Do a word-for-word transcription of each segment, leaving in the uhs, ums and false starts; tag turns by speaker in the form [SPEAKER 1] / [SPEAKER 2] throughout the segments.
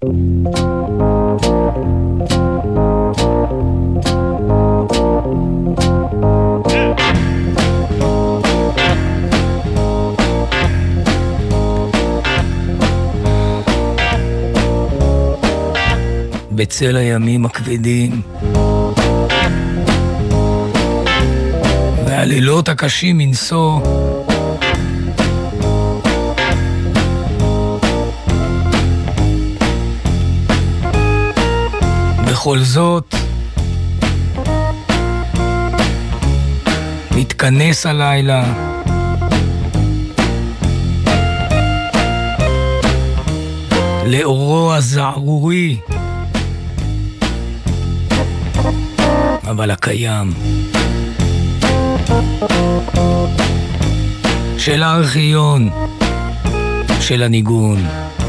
[SPEAKER 1] בצל הימים הכבדים והלילות הקשים מנשוא, בכל זאת מתכנס הלילה לאורו הזערורי אבל הקיים של הארכיון של הניגון.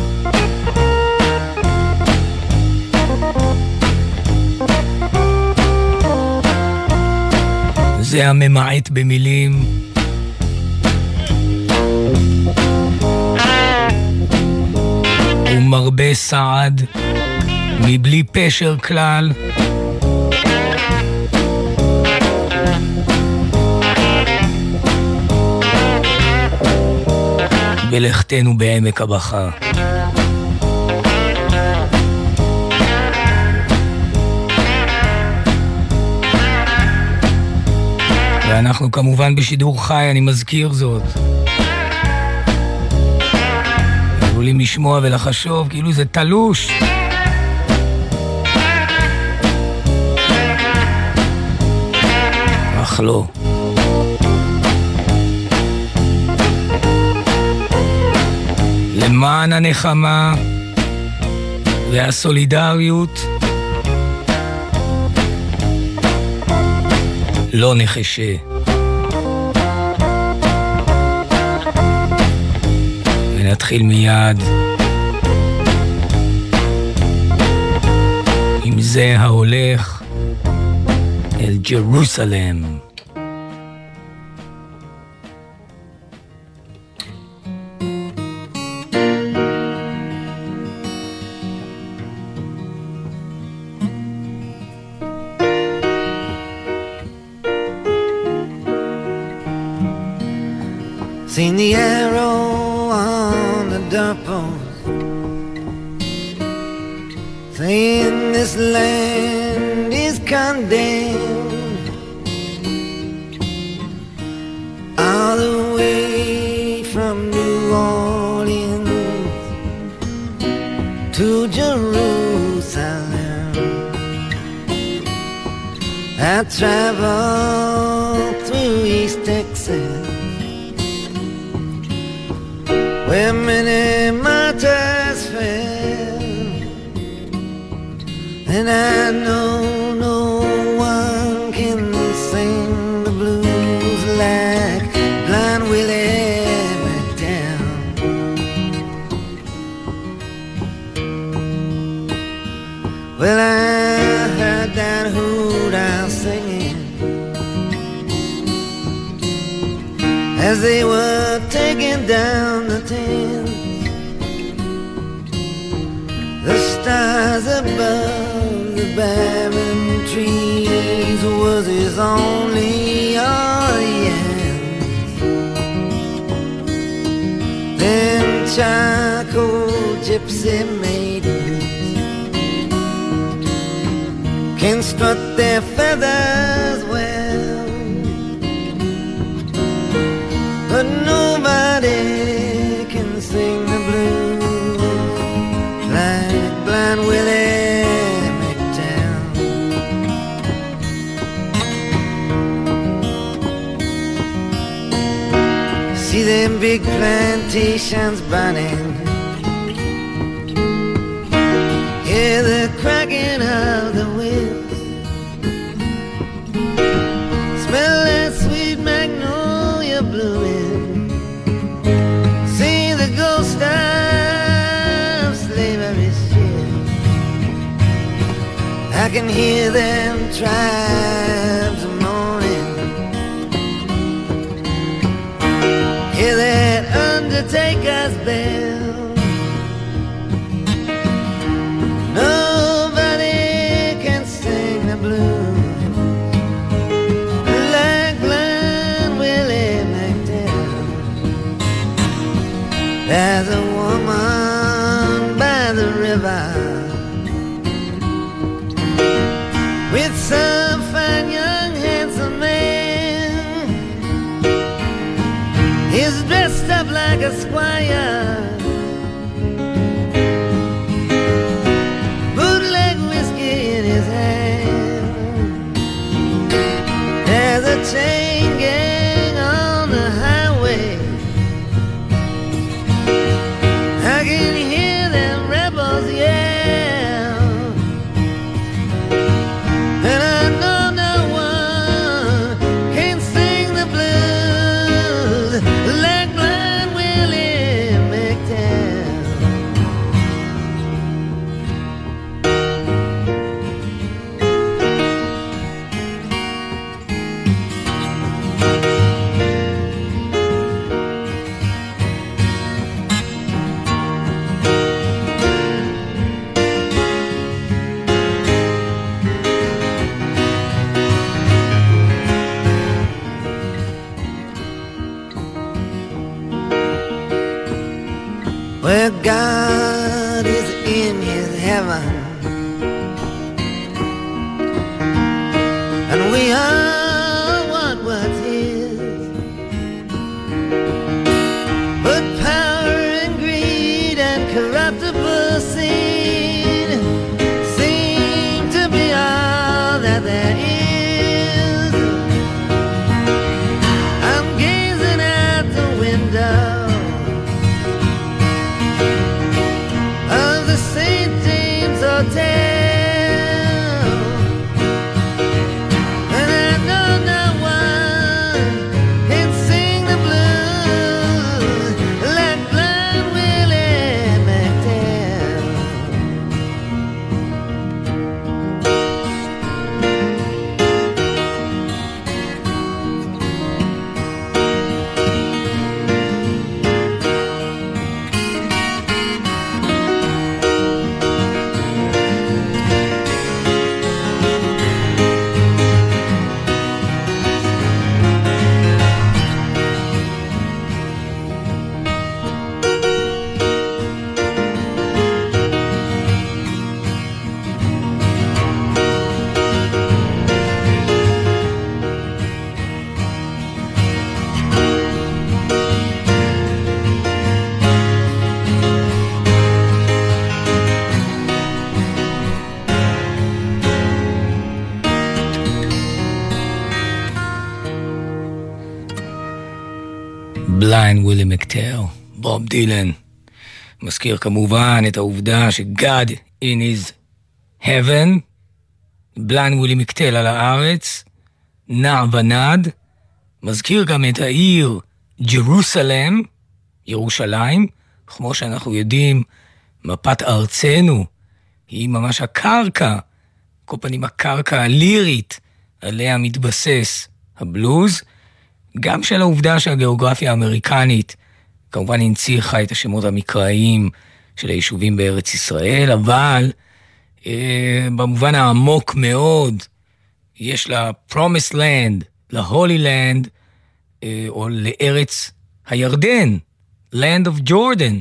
[SPEAKER 1] זה הממעט במילים ומרבה סעד מבלי פשר כלל, ולכתנו בעמק הבכה. ואנחנו כמובן בשידור חי, אני מזכיר זאת. יכולים לשמוע ולחשוב כאילו זה תלוש. אך לא. למען הנחמה והסולידריות לא נחשה. ונתחיל מיד עם זה ההולך אל ג'רוסלם.
[SPEAKER 2] Seen the arrow on the doorpost, saying this land is condemned. All the way from New Orleans to Jerusalem, I traveled through East Texas, where many martyrs fell, and I know no one can sing the blues like Blind Willie McDowell. Well, I heard that hoot owl singing as they were taking down the tents. The stars above the barren trees was his only audience. Then charcoal gypsy maidens can strut their feathers well, but nobody can sing the blues like Blind Willie McDowell. See them big plantations burning, hear the cracking of the whips, smell that sweet magnolia blooming, see the ghost of slavery ship. I can hear them tribes moaning, hear that undertaker's bell, river with some fine young handsome man. He's dressed up like a squire, bootleg whiskey in his hand. There's a chain gang on the highway, I can hear them rebels yell, and I know no one can sing the blues like Blind Willie McTell. Where God is in his heaven and we are what was his, but power and greed and corruptible sin seem to be all that there is. I'm gazing out the window of the Saint James Hotel, and I know no one can sing the blues like Blind Willie McTell.
[SPEAKER 1] בליינד ווילי מקטל, בוב דילן. מזכיר כמובן את העובדה ש-God in his heaven, בליינד ווילי מקטל על הארץ, נע ונד. מזכיר גם את העיר ג'רוסלם, ירושלים. כמו שאנחנו יודעים, מפת ארצנו היא ממש הקרקע, כל פנים הקרקע הלירית עליה מתבסס הבלוז. גם של העובדה שהגיאוגרפיה האמריקנית כמובן הנציחה את השמות המקראיים של היישובים בארץ ישראל, אבל אה, במובן העמוק מאוד יש לה Promised Land, ל-Holy Land, אה, או לארץ הירדן, Land of Jordan,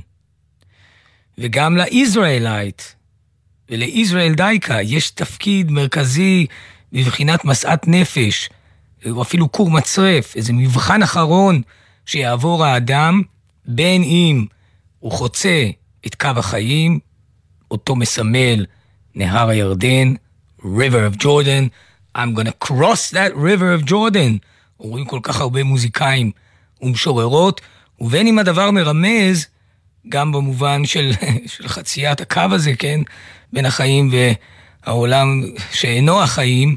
[SPEAKER 1] וגם לישראלייט ולישראל דייקה יש תפקיד מרכזי בבחינת מסעת נפש, או אפילו קור מצרף, איזה מבחן אחרון שיעבור האדם, בין אם הוא חוצה את קו החיים, אותו מסמל נהר הירדן, River of Jordan, I'm gonna cross that River of Jordan, אומרים כל כך הרבה מוזיקאים ומשוררות, ובין אם הדבר מרמז, גם במובן של, של חציית הקו הזה, כן, בין החיים והעולם שאינו החיים,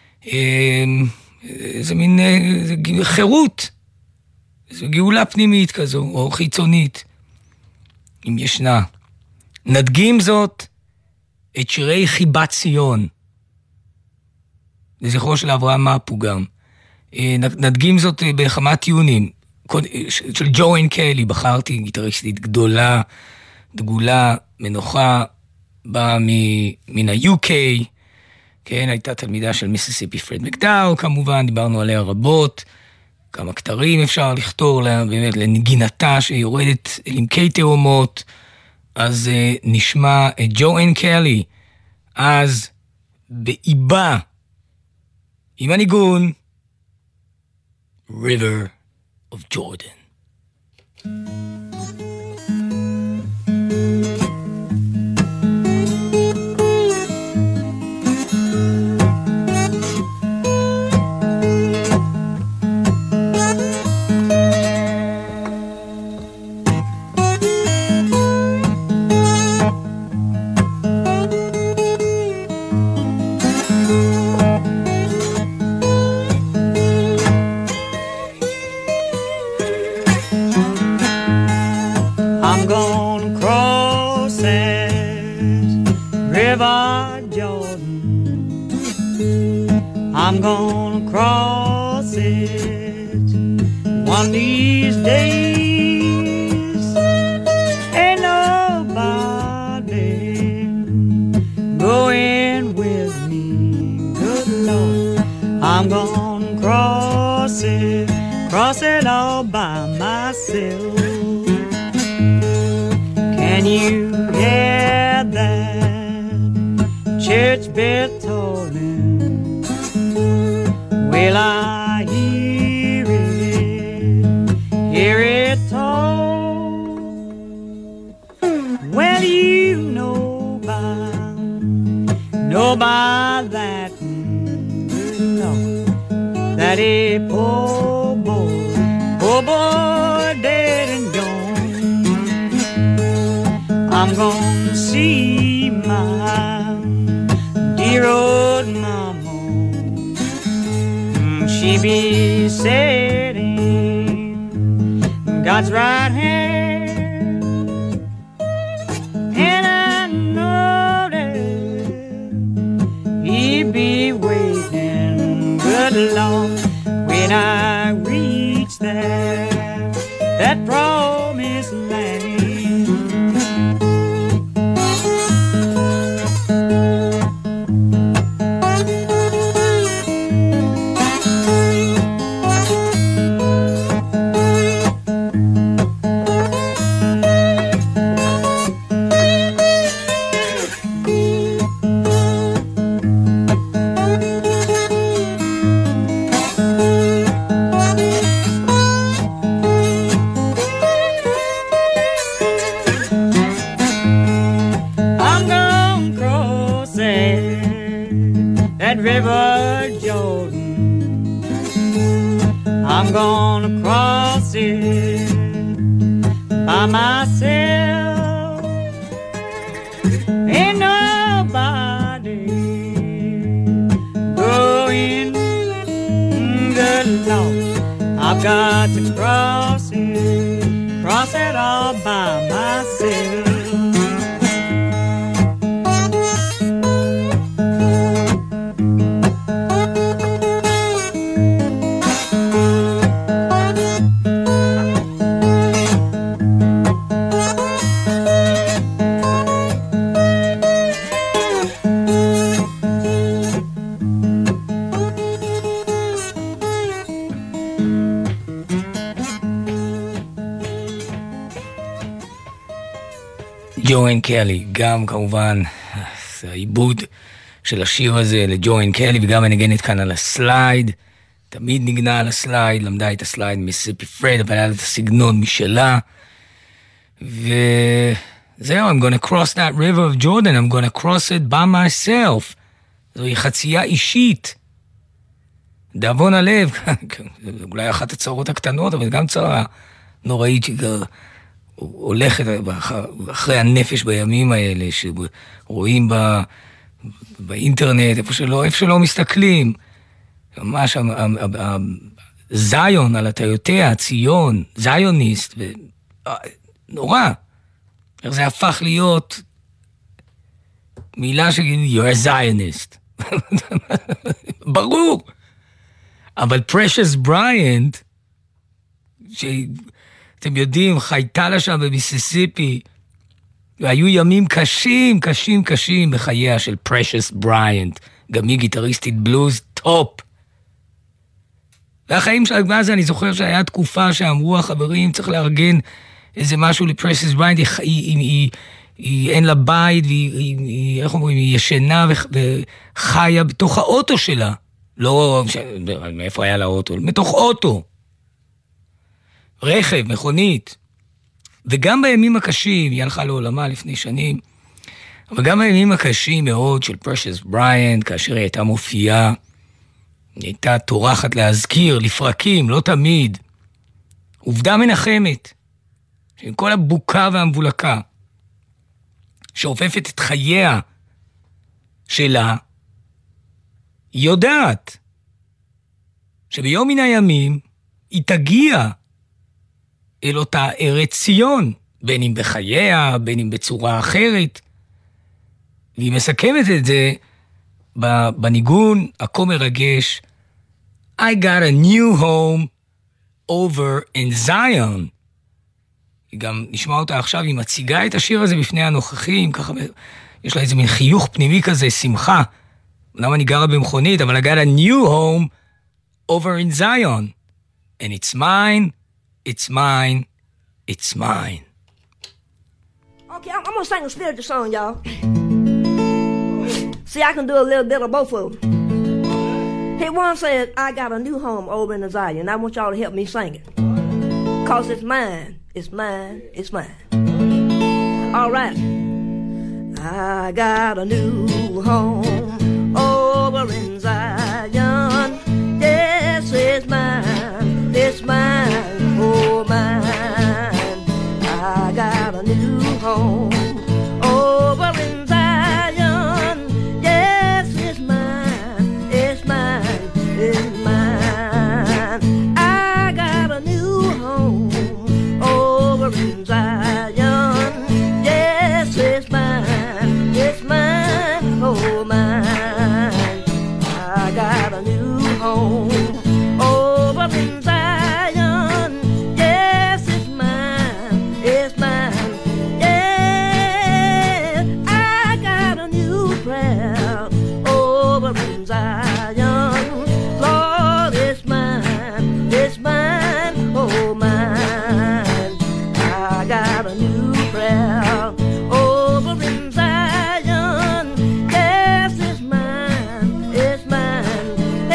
[SPEAKER 1] זה מין זה חירות, זו גאולה פנימית כזו, או חיצונית, אם ישנה. נדגים זאת את שירי חיבת ציון, לזכרו של אברהם מאפו גם. נדגים זאת בכמה טיונים, של ג'ואן קלי, בחרתי גיטריסטית גדולה, דגולה, מנוחה, באה מן ה-יו קיי, כן, הייתה תלמידה של מיסיסיפי פרד מקדאו, כמובן, דיברנו עליה רבות, כמה כתרים אפשר לכתור לה, באמת, לנגינתה שיורדת אל עמקי תאומות, אז uh, נשמע את ג'ואן קלי, אז באיבה, עם הניגון, River of Jordan.
[SPEAKER 3] I'm gonna cross it one of these days. Ain't nobody going with me, good Lord. I'm gonna cross it, cross it all by myself. Can you hear that church bell tolling? Will I hear it, hear it toll? Well, you know by, know by that, know that a poor boy, poor boy dead and gone. I'm gonna see my dear old mama. She be sitting God's right hand, and I know that he be waiting, good Lord, when I reach that, that promised land. River Jordan, I'm gonna cross it by myself. Ain't nobody going, good Lord. I've got to cross it, cross it all by myself.
[SPEAKER 1] ג'ואן קלי, גם כמובן זה העיבוד של השיר הזה לג'ואן קלי, וגם הנגנת כאן על הסלייד, תמיד נגנה על הסלייד, למדה את הסלייד מיסיסיפי פרד, אבל היה לה את הסגנון משלה, וזהו, I'm gonna cross that river of Jordan, I'm gonna cross it by myself, זוהי חצייה אישית, דאבון הלב, אולי אחת הצרות הקטנות, אבל גם צרה נוראית שגר, הולכת אחרי הנפש בימים האלה, שרואים בה, באינטרנט, איפה שלא, איפה שלא מסתכלים, ממש זיון על הטיותיה, ציון, זיוניסט, נורא, איך זה הפך להיות מילה שגיד, you're a Zionist, ברור, אבל פרשס בריינט, שאתם יודעים, חייתה לה שם במיסיסיפי, והיו ימים קשים, קשים, קשים בחייה של פרשס בריינט, גם היא גיטריסטית בלוז טופ. והחיים שלה, מה זה, אני זוכר שהיה תקופה שאמרו החברים, צריך לארגן איזה משהו לפרשס בריינט, היא, היא, היא, היא אין לה בית, והיא, היא, היא, איך אומרים, היא ישנה וחיה בתוך האוטו שלה. לא, מאיפה היה לה אוטו? מתוך אוטו. רכב, מכונית. וגם בימים הקשים, היא הלכה לעולמה לפני שנים, אבל גם בימים הקשים מאוד של פרשס בריאנט, כאשר היא הייתה מופיעה, היא הייתה תורחת להזכיר, לפרקים, לא תמיד. עובדה מנחמת, שעם כל הבוקה והמבולקה, שעופפת את חייה שלה, היא יודעת שביום מן הימים היא תגיע אל אותה ארץ ציון, בין אם בחייה, בין אם בצורה אחרת. והיא מסכמת את זה בניגון הכה מרגש, I got a new home over in Zion. היא גם נשמע אותה עכשיו, היא מציגה את השיר הזה בפני הנוכחים, ככה יש לה איזה מין חיוך פנימי כזה, שמחה. למה אני גרה במכונית, אבל I got a new home over in Zion. And it's mine, it's mine, it's mine.
[SPEAKER 4] Okay, I'm, I'm gonna sing a spiritual song, y'all. See, I can do a little bit of both of them. Hey, one said, I got a new home over in the Zion. I want y'all to help me sing it. Cause it's mine, it's mine, it's mine. All right. I got a new home over in Zion. Yes, it's mine, it's mine, oh mine. I got a new home over in Zion. Yes, it's mine, it's mine, it's mine. I got a new home over in Zion. Yes, it's mine, it's mine, oh mine. I got a new home over in Zion. Yes, it's mine, it's mine. Yeah, I got a new prayer over in Zion. Lord, it's mine, it's mine, oh mine. I got a new prayer over in Zion. Yes, it's mine, it's mine.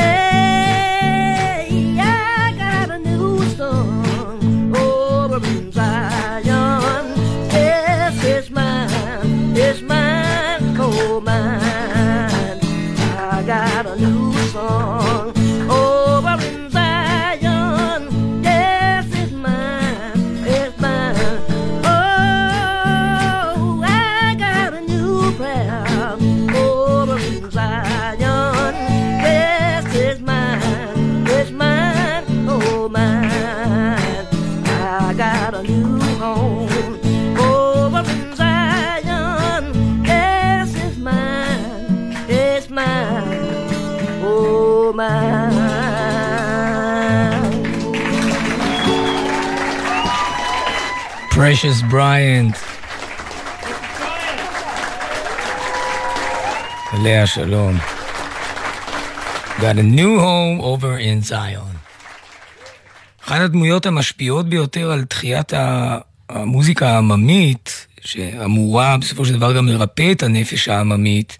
[SPEAKER 4] Hey, I got a new song over in Zion. Yes, it's mine, it's mine, oh mine. I got a new song over in Zion. Yes, it's mine, it's mine. Oh, I got a new prayer over in Zion. Yes, it's mine, it's mine, oh mine. I got a new home over in Zion. Yes, it's mine, it's mine, oh mine.
[SPEAKER 1] Precious Bryant. עליה שלום. Got a new home over in Zion. אחת הדמויות המשפיעות ביותר על תחיית המוזיקה העממית, שאמורה בסופו של דבר גם לרפא את הנפש העממית,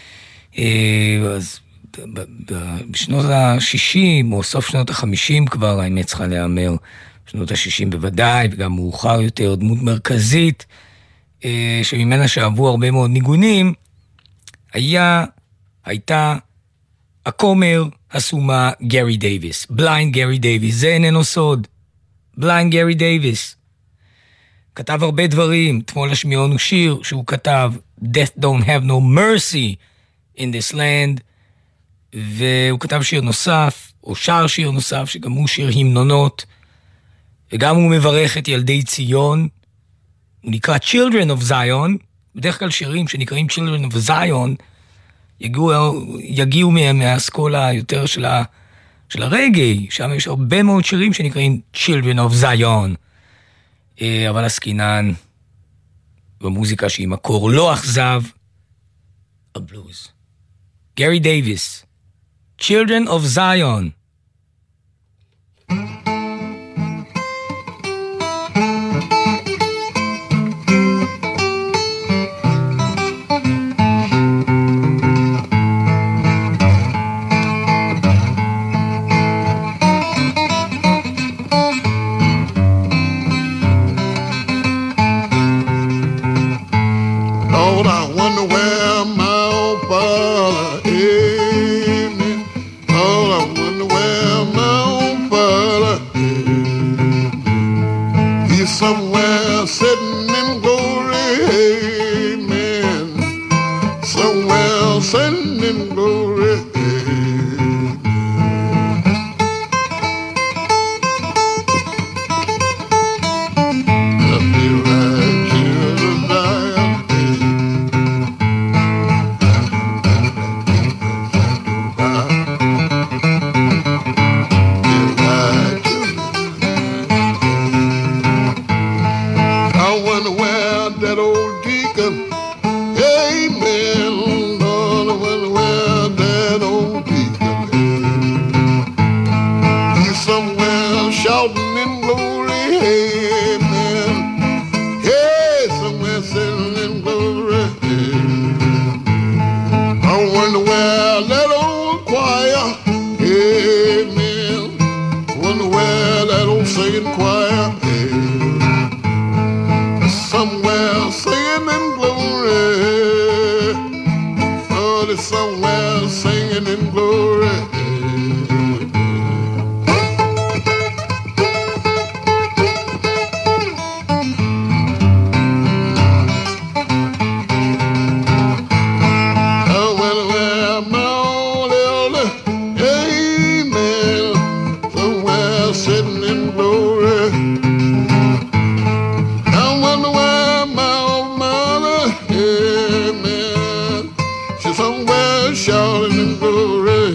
[SPEAKER 1] אז בשנות ה-שישים או סוף שנות ה-חמישים כבר, האמת צריכה להיאמר, בשנות ה-שישים בוודאי, וגם מאוחר יותר, דמות מרכזית, שממנה שאהבו הרבה מאוד ניגונים, היה, הייתה הכומר הסומה גרי דייביס, בליינד גרי דייביס, זה איננו סוד, בליינד גרי דייביס. כתב הרבה דברים, אתמול השמיעונו שיר שהוא כתב, Death Don't Have No Mercy in This Land, והוא כתב שיר נוסף, או שר שיר נוסף, שגם הוא שיר המנונות, וגם הוא מברך את ילדי ציון, הוא נקרא Children of Zion, בדרך כלל שירים שנקראים Children of Zion, יגיעו, יגיעו מהאסכולה יותר של, ה, של הרגעי, שם יש הרבה מאוד שירים שנקראים Children of Zion, אבל הסקינן במוזיקה שהיא מקור לא אכזב, הבלוז. גרי דייביס, Children of Zion.
[SPEAKER 5] father, amen. Lord, I wonder where my own father is. He's somewhere sitting in glory, amen. Somewhere sitting in glory, amen. I feel like children dying. That old deacon, amen, Lord, I wonder where that old deacon is. He's somewhere shouting in glory, amen. Hey, somewhere sitting in glory, amen. I wonder where that old choir, amen. Wonder where that old singing choir is. Somewhere singing in glory, oh, there's somewhere singing in glory. Oh, well, where my old elder, amen, somewhere sitting in glory. Somewhere shouting in glory.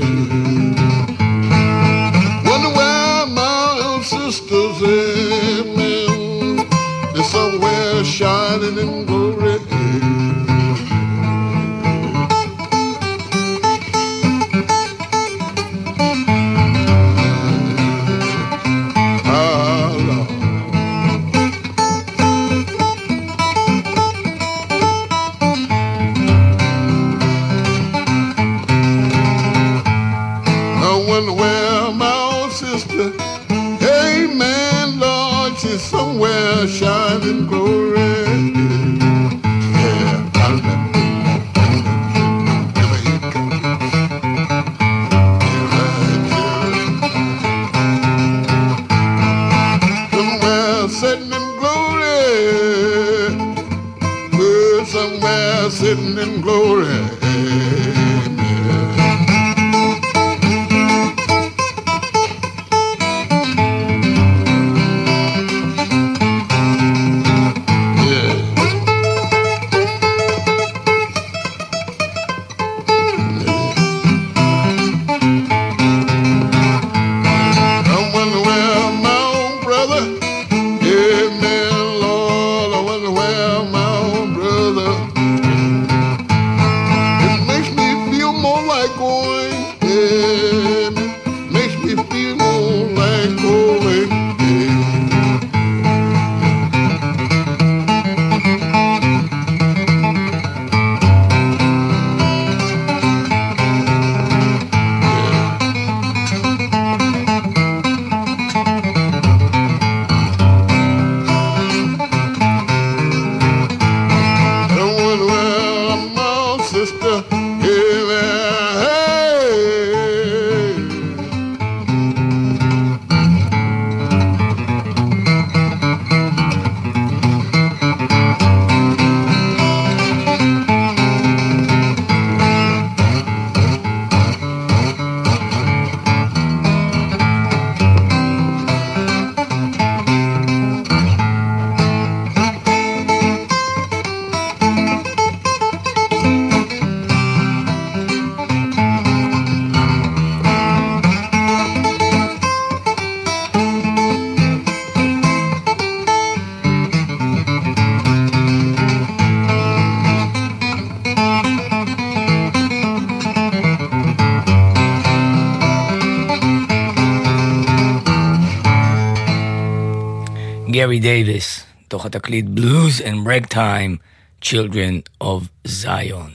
[SPEAKER 5] Wonder where my sisters, amen. They're somewhere shining in glory. Ah, Lord. Where my old sister, amen, Lord, she's somewhere shining glory. Yeah, somewhere sitting in glory. We're somewhere sitting in glory.
[SPEAKER 1] גרי דייביס, תוך התקליט Blues and Ragtime, Children of Zion.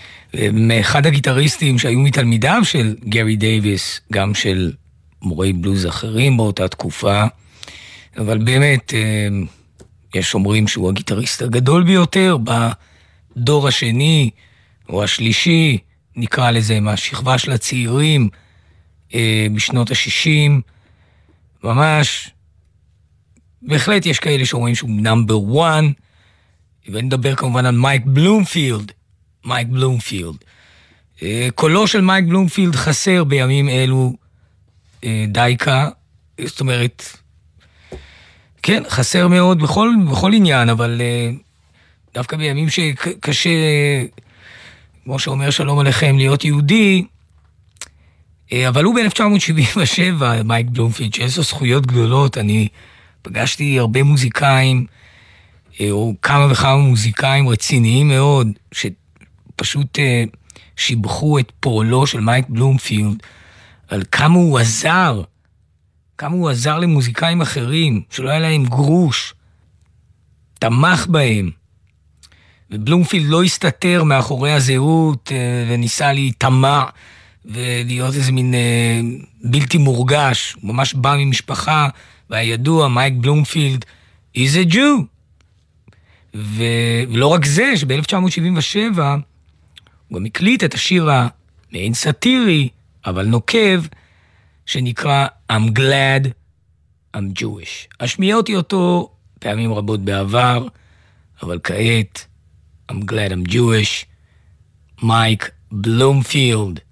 [SPEAKER 1] מאחד הגיטריסטים שהיו מתלמידיו של גרי דייביס, גם של מורי בלוז אחרים באותה תקופה, אבל באמת יש אומרים שהוא הגיטריסט הגדול ביותר בדור השני, או השלישי, נקרא לזה, מהשכבה של הצעירים אה, בשנות ה-שישים, ממש, בהחלט יש כאלה שאומרים שהוא נאמבר וואן, ונדבר כמובן על מייק בלומפילד, מייק בלומפילד. אה, קולו של מייק בלומפילד חסר בימים אלו אה, דייקה, זאת אומרת, כן, חסר מאוד בכל, בכל עניין, אבל uh, דווקא בימים שקשה, כמו שאומר שלום עליכם, להיות יהודי, uh, אבל הוא ב-אלף תשע מאות שבעים ושבע, מייק בלומפילד, שיש לו זכויות גדולות, אני פגשתי הרבה מוזיקאים, uh, או כמה וכמה מוזיקאים רציניים מאוד, שפשוט uh, שיבחו את פועלו של מייק בלומפילד, על כמה הוא עזר, כמה הוא עזר למוזיקאים אחרים, שלא היה להם גרוש, תמך בהם. ובלומפילד לא הסתתר מאחורי הזהות, וניסה להיטמע, ולהיות איזה מין בלתי מורגש. הוא ממש בא ממשפחה, והידוע, מייק בלומפילד, is a Jew. ולא רק זה, שב-אלף תשע מאות שבעים ושבע, הוא גם הקליט את השיר המעין סאטירי, אבל נוקב, שנקרא I'm glad I'm Jewish. השמיעתי אותו פעמים רבות בעבר, אבל כעת I'm glad I'm Jewish. מייק בלומפילד.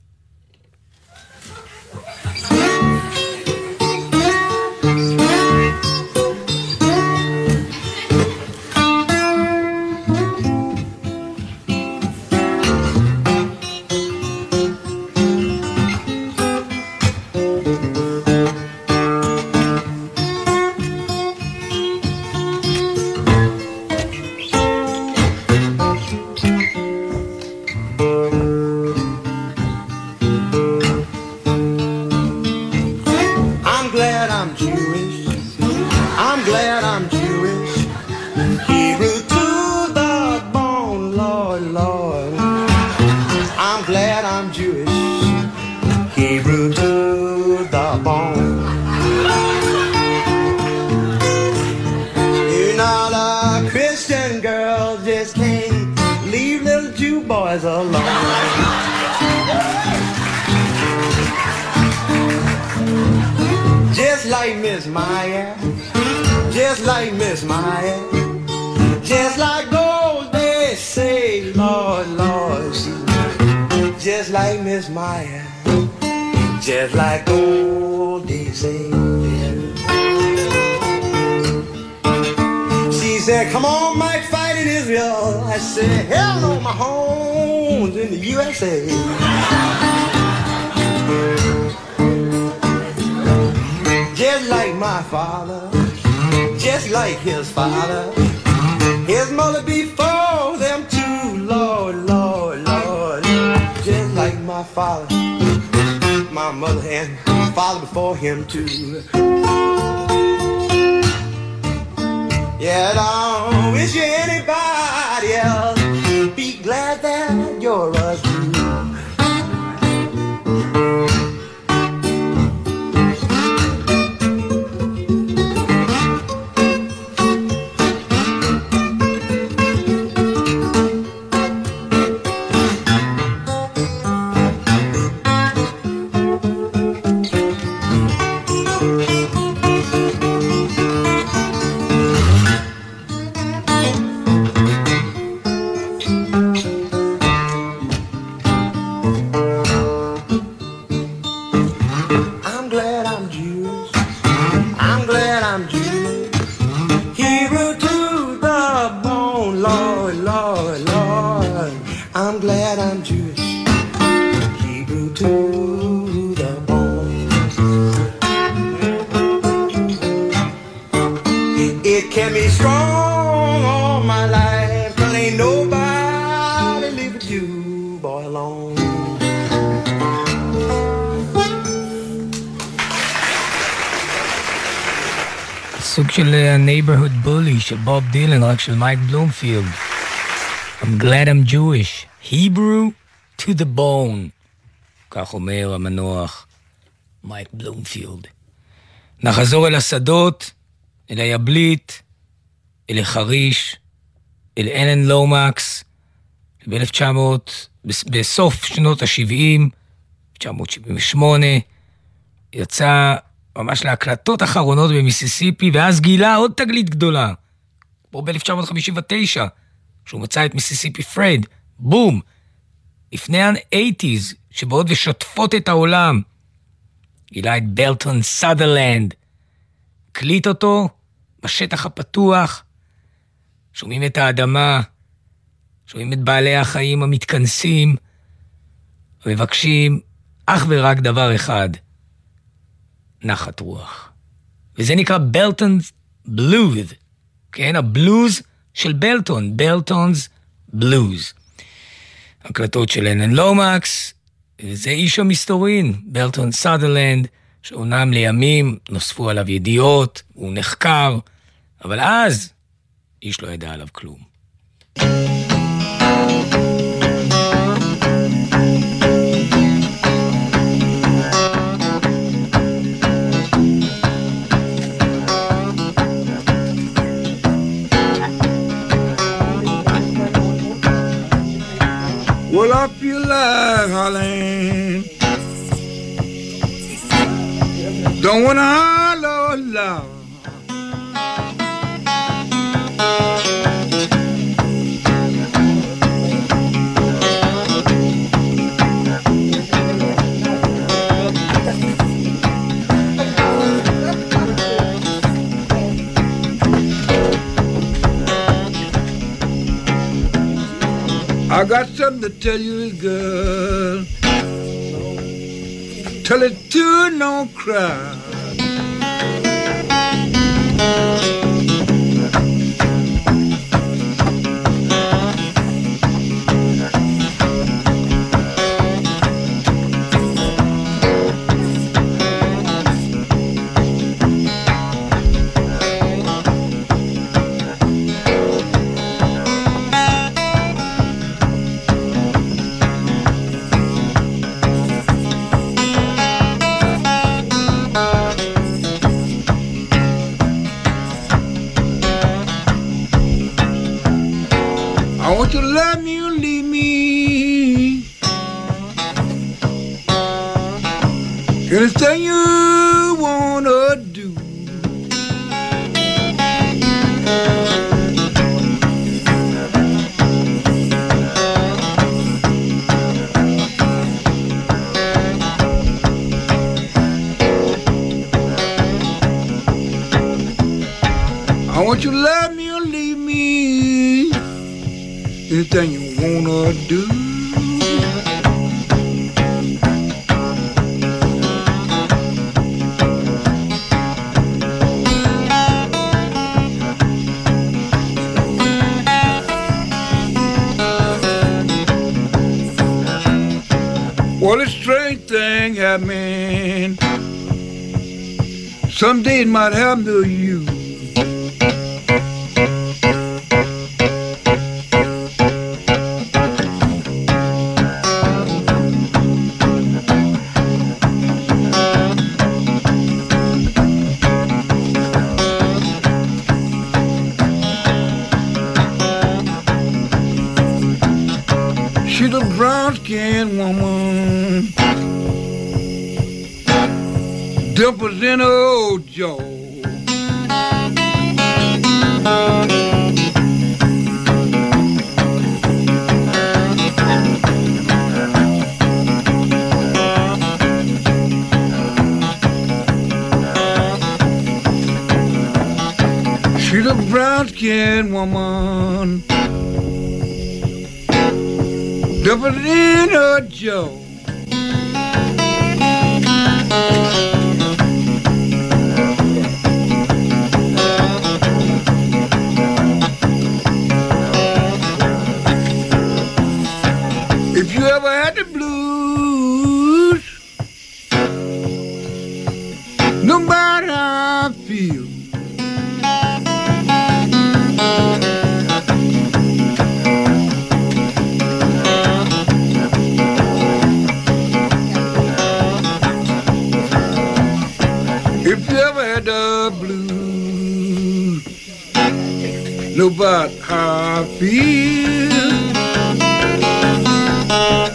[SPEAKER 1] סוג של neighborhood bully של בוב דילן, רק של מייק בלומפילד. I'm glad I'm Jewish, Hebrew to the bone, כך אומר המנוח מייק בלומפילד. נחזור אל השדות, אל היבלית, אל החריש, אל אלן לומקס, ב-אלף תשע מאות בסוף שנות ה-שבעים, תשע מאות שבעים ושמונה, יצא ממש להקלטות אחרונות במיסיסיפי, ואז גילה עוד תגלית גדולה, פה ב-אלף תשע מאות חמישים ותשע, שהוא מצא את מיסיסיפי פרד, בום, לפני ה-שמונים, שבאות ושוטפות את העולם, גילה את ברטון סאדרלנד, קליט אותו בשטח הפתוח, שומעים את האדמה, שומעים את בעלי החיים המתכנסים, מבקשים אך ורק דבר אחד, נחת רוח. וזה נקרא ברטונ's בלוז, כן, הבלוז של ברטון, ברטונ's בלוז. הקלטות של לנון לומקס, וזה איש המסתורין, ברטון סאדרלנד, שאומנם לימים נוספו עליו ידיעות, הוא נחקר, אבל אז איש לא ידע עליו כלום.
[SPEAKER 6] Well, up your life, Holland. Don't wanna holler loud. I got something to tell you, girl. Tell it to don't cry. I want you to love me or leave me. Anything you wanna do. I want you to love me or leave me. Anything you wanna do. What a strange thing happened. Someday it might happen to you. She's a brown-skinned woman, dimples in her old jaw. She's a brown-skinned woman, dimples in her jaw. If you ever had the blues, no matter how I feel, if you ever had the blues, know about how I feel.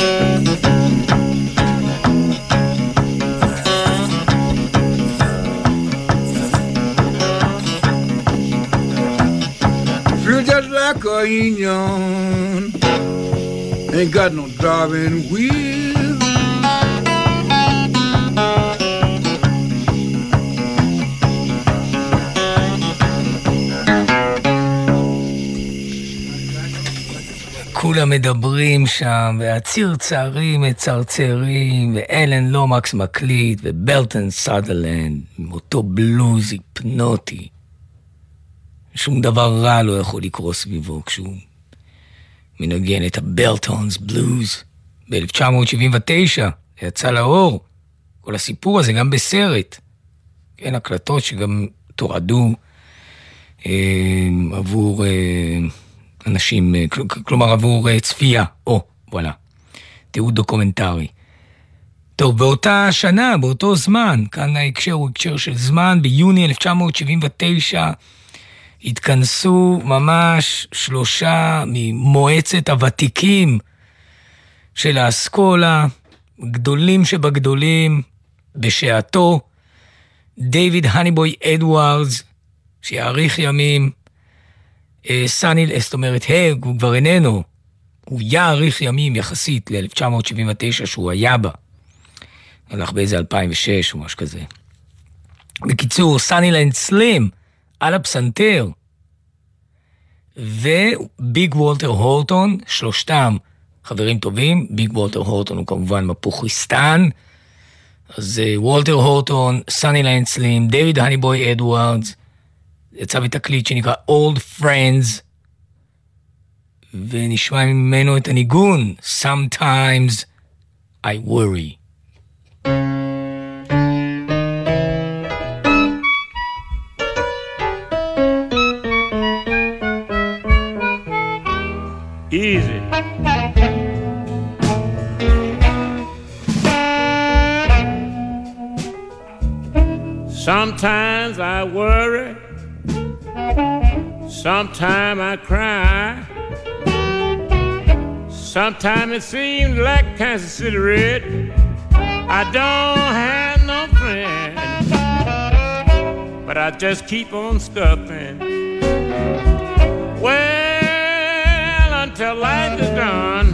[SPEAKER 6] union ain't got no driving wheel.
[SPEAKER 1] כולם מדברים שם, והצרצרים מצרצרים, ואלן לומקס מקליט, ובלטון סאדרלנד, עם אותו בלוז היפנוטי. שום דבר רע לא יכול לקרוא סביבו כשהוא מנגן את הבלטונס בלוז. ב-אלף תשע מאות שבעים ותשע יצא לאור כל הסיפור הזה גם בסרט. כן, הקלטות שגם תועדו אה, עבור... אה, אנשים, כלומר עבור צפייה, או, וואלה, תיעוד דוקומנטרי. טוב, באותה שנה, באותו זמן, כאן ההקשר הוא הקשר של זמן, ביוני אלף תשע מאות שבעים ותשע התכנסו ממש שלושה ממועצת הוותיקים של האסכולה, גדולים שבגדולים, בשעתו, דיוויד הניבוי אדוארדס, שיעריך ימים, סאני, זאת אומרת, הג, הוא כבר איננו, הוא יעריך ימים יחסית ל-אלף תשע מאות שבעים ותשע שהוא היה בה, הלך באיזה אלפיים ושש או משהו כזה. בקיצור, סאנילנד סלים על הפסנתר, וביג וולטר הורטון, שלושתם חברים טובים, ביג וולטר הורטון הוא כמובן מפוכיסטן, אז וולטר הורטון, סאנילנד סלים, דיוויד הניבוי אדוארדס, יצא בתקליט שנקרא Old Friends, ונשמע ממנו את הניגון, Sometimes I Worry.
[SPEAKER 7] Easy. Sometimes I worry, sometimes I cry, sometimes it seems like Kansas City Red, I don't have no friend, but I just keep on scuffing. Well, until life is done,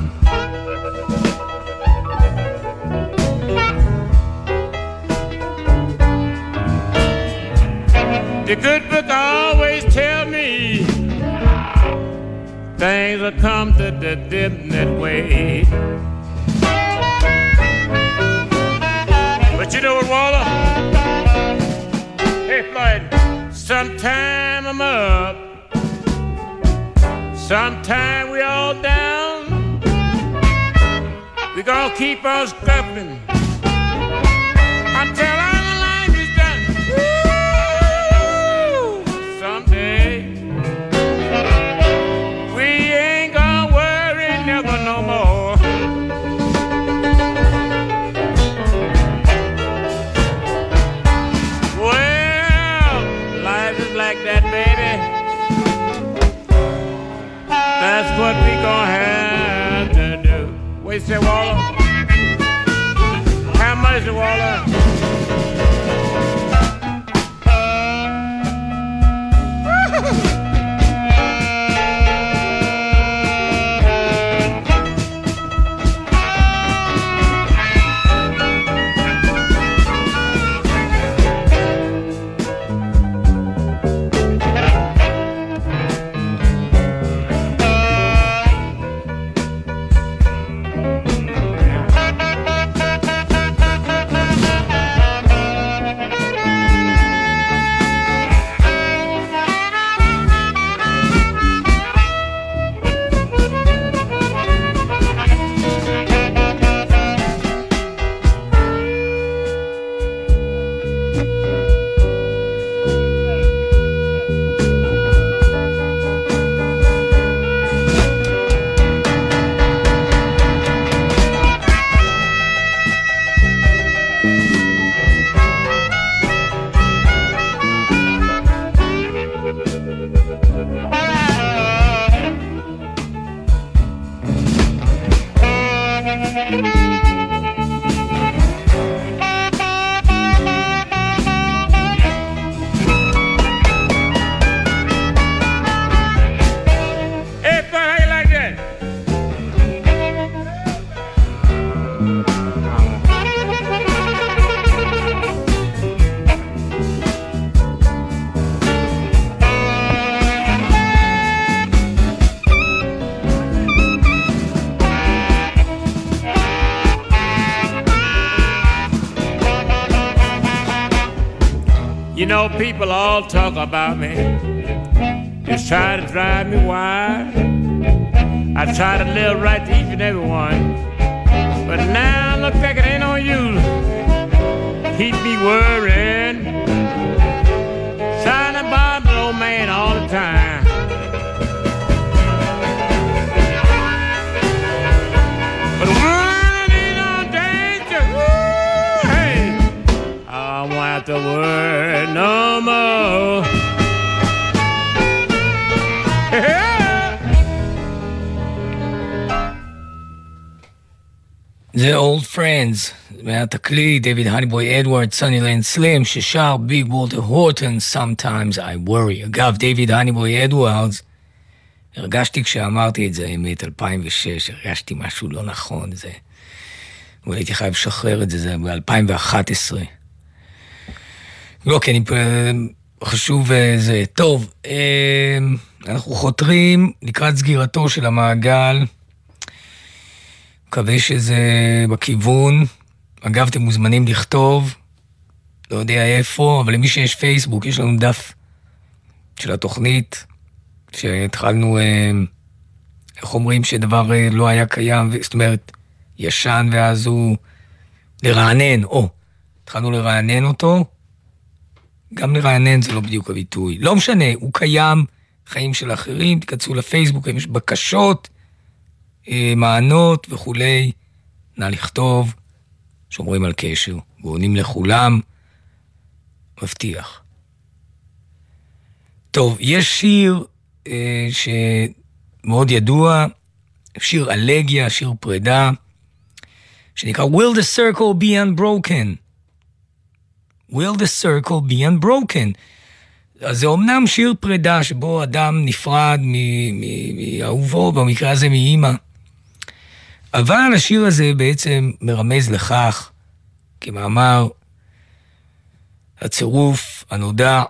[SPEAKER 7] the good book always tell me things will come to the different way. But you know what, Waller? Hey, Floyd, sometime I'm up, sometime we all down. We gonna keep on scuffing until I no more. Well, life is like that, baby. That's what we gonna have to do. What you say, Waller? How much, Waller? You know, people all talk about me, just try to drive me wild. I try to live right to each and every one, but now look like it ain't no use. Keep me worrying, trying to bother the old man all the time. But when I need no danger, woo, hey, I won't have to worry no more.
[SPEAKER 1] זה Old Friends, מהתקליט, דויד הניבוי אדוארד, סוני לנד סלים, ששר ביג וולטר הורטון, Sometimes I Worry. אגב, דויד הניבוי אדוארדס, הרגשתי כשאמרתי את זה, האמת, אלפיים ושש, הרגשתי משהו לא נכון, זה... אבל הייתי חייב לשחרר את זה, זה ב-אלפיים ואחת עשרה. לא, כי אני חשוב זה. טוב, אנחנו חותרים לקראת סגירתו של המעגל, מקווה שזה בכיוון. אגב, אתם מוזמנים לכתוב, לא יודע איפה, אבל למי שיש פייסבוק, יש לנו דף של התוכנית, שהתחלנו, איך אומרים, שדבר לא היה קיים, זאת אומרת, ישן, ואז הוא לרענן, או, התחלנו לרענן אותו, גם לרענן זה לא בדיוק הביטוי, לא משנה, הוא קיים, חיים של אחרים, תקצרו לפייסבוק, יש בקשות, מענות וכולי, נא לכתוב, שומרים על קשר, ועונים לכולם, מבטיח. טוב, יש שיר אה, שמאוד ידוע, שיר אלגיה, שיר פרידה, שנקרא Will the Circle be unbroken? Will the Circle be unbroken? אז זה אומנם שיר פרידה, שבו אדם נפרד מאהובו, במקרה הזה מאמא, אבל השיר הזה בעצם מרמז לכך, כמאמר הצירוף הנודע,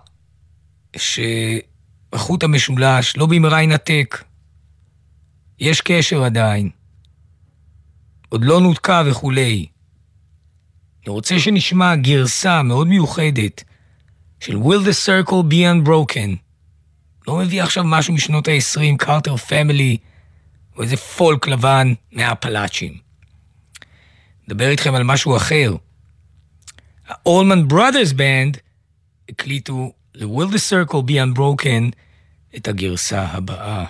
[SPEAKER 1] שהחוט המשולש לא במהרה ינתק, יש קשר עדיין, עוד לא נותקה וכולי. אני רוצה שנשמע גרסה מאוד מיוחדת של Will the Circle be unbroken. לא מביא עכשיו משהו משנות ה-עשרים, קארטר פמילי, או איזה פולק לבן מהפלאצ'ים. נדבר איתכם על משהו אחר. ה-Allman Brothers Band הקליטו ל-Will the Circle be unbroken את הגרסה הבאה.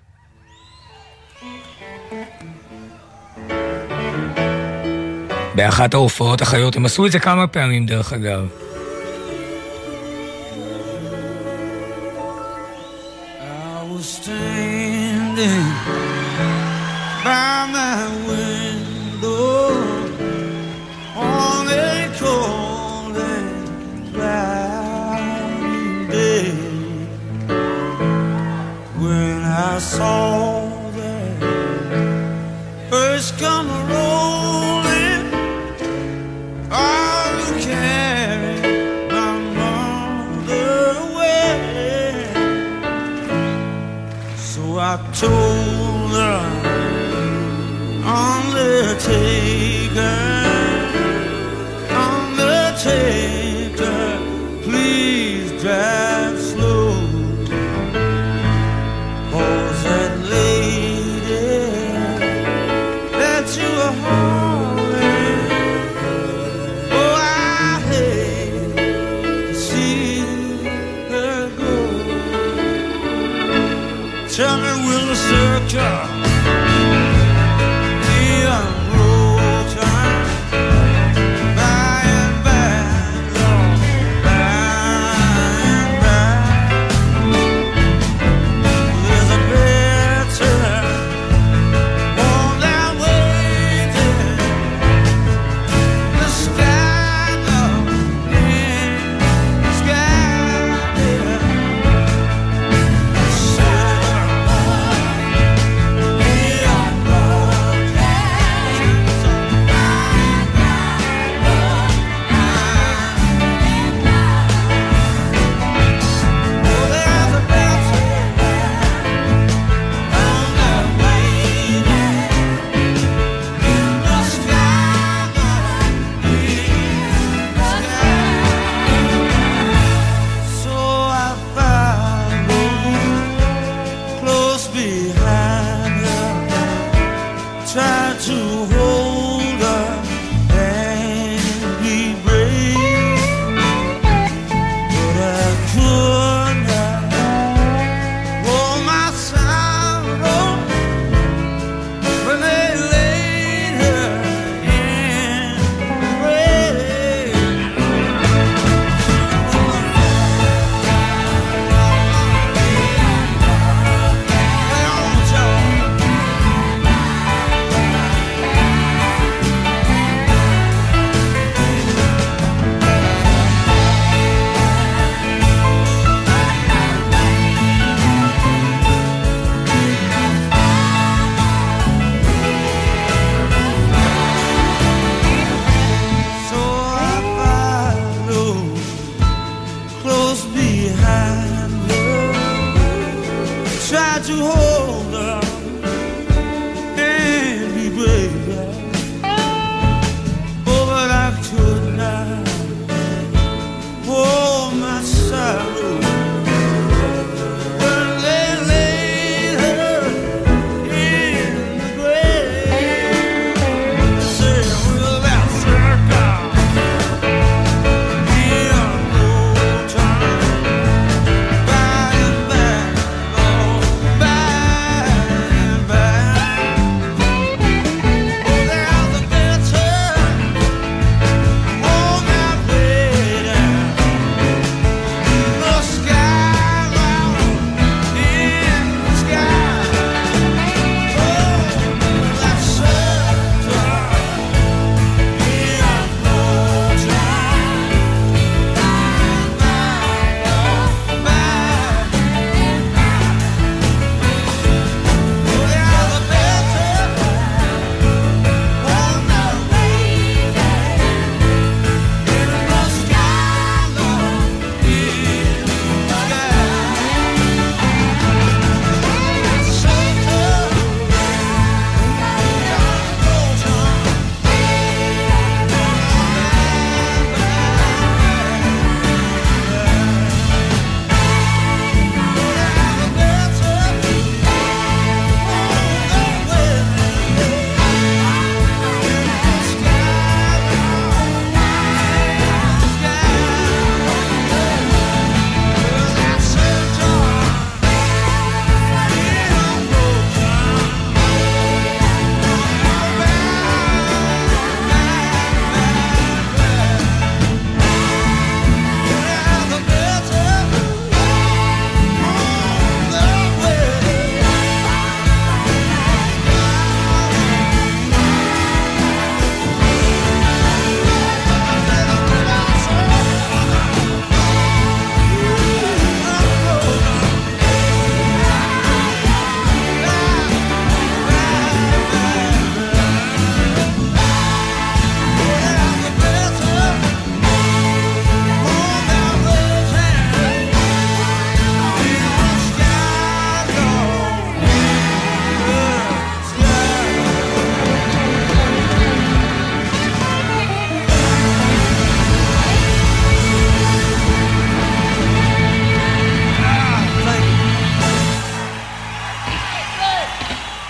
[SPEAKER 1] באחת ההופעות החיות, הם עשו את זה כמה פעמים דרך אגב.
[SPEAKER 8] I was standing by my window on a cold and cloudy day when I saw that first come rolling all who carried my mother away. So I told her on the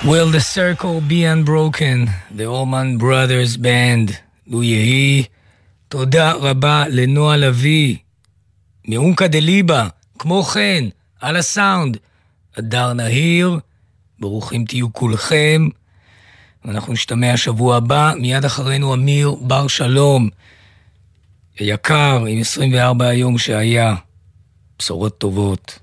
[SPEAKER 1] Will the circle be unbroken? The Allman Brothers Band. לו יהי. תודה רבה לנועה לוי. מעונקה דליבה. כמו כן, על הסאונד. אדר נהיר. ברוכים תהיו כולכם. אנחנו נשתמע שבוע הבא. מיד אחרינו אמיר בר שלום. יקר, עם עשרים וארבע היום שהיה. בשורות טובות.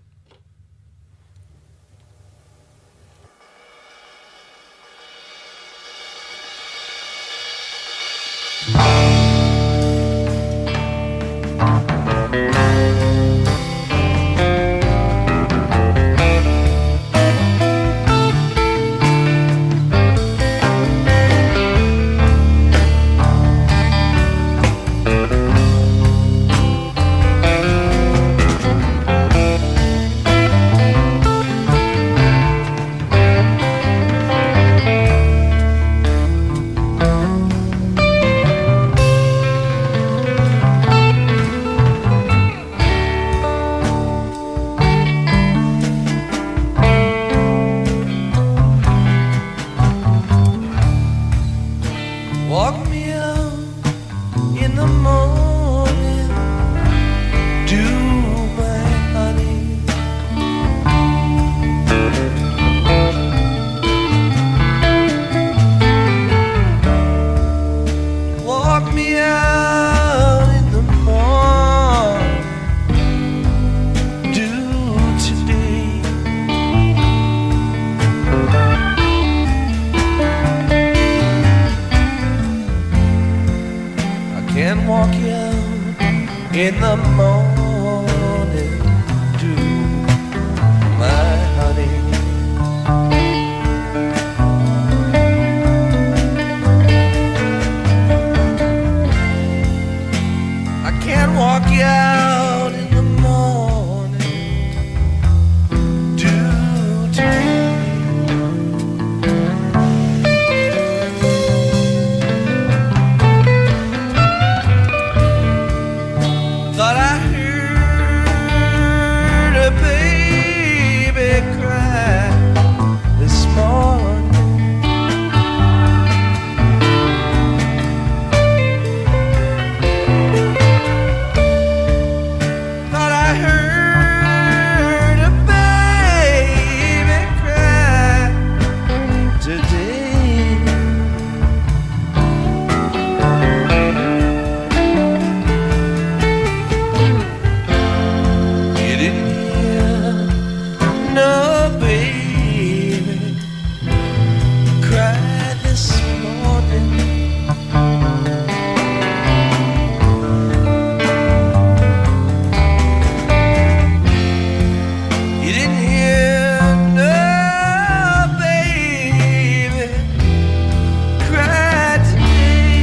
[SPEAKER 2] in the morning to my honey. I can't walk you out in the morning to thought I heard a baby cry this morning. Thought I heard a baby cry today. You didn't hear no baby cry this morning. You didn't hear no baby cry today.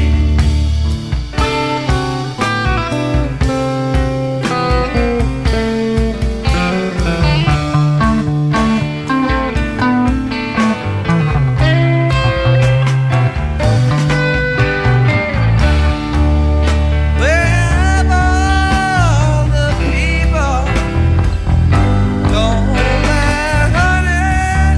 [SPEAKER 2] Where have all the people gone, my honey?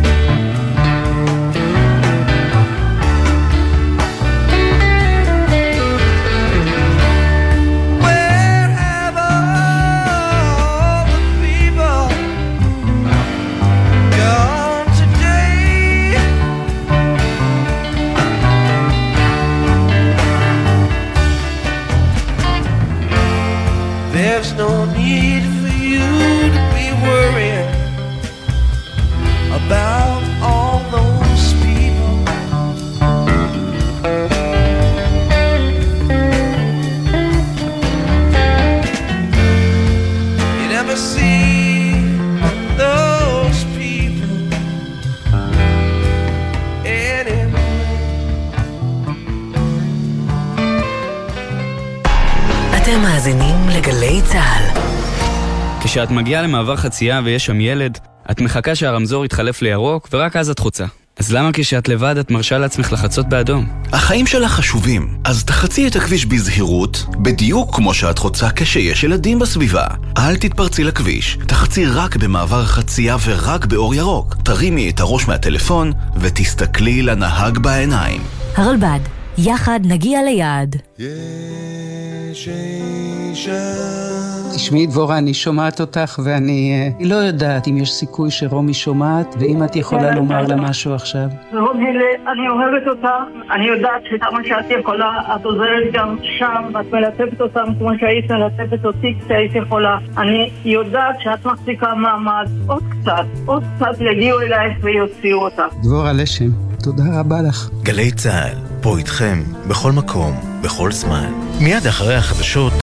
[SPEAKER 2] Where have all the people gone today? There's no need for you to be worrying about all those people. You never see those people anymore.
[SPEAKER 9] אתם מאזינים לגלי צהל.
[SPEAKER 10] כשאת מגיעה למעבר חצייה ויש שם ילד, את מחכה שהרמזור יתחלף לירוק ורק אז את חוצה. אז למה כשאת לבד את מרשה לעצמך לחצות באדום?
[SPEAKER 11] החיים שלך חשובים, אז תחצי את הכביש בזהירות, בדיוק כמו שאת חוצה כשיש ילדים בסביבה. אל תתפרצי לכביש, תחצי רק במעבר חצייה ורק באור ירוק. תרימי את הראש מהטלפון ותסתכלי לנהג בעיניים.
[SPEAKER 12] הרלב"ד, יחד נגיע ליעד.
[SPEAKER 8] יש אישה.
[SPEAKER 13] תשמעי דבורה, אני שומעת אותך ואני uh, לא יודעת אם יש סיכוי שרומי שומעת, ואם את יכולה לומר לה משהו עכשיו.
[SPEAKER 14] רומי, אני אוהבת אותך, אני יודעת שכמה שאת יכולה, את עוזרת גם שם, את מלטפת אותם כמו שהיית מלטפת אותי כשהיית יכולה. אני יודעת שאת מחזיקה מעמד, עוד קצת, עוד קצת יגיעו אלייך ויוציאו אותך.
[SPEAKER 13] דבורה לשם, תודה רבה לך.
[SPEAKER 15] גלי צהל, פה איתכם, בכל מקום, בכל זמן. מיד אחרי החדשות,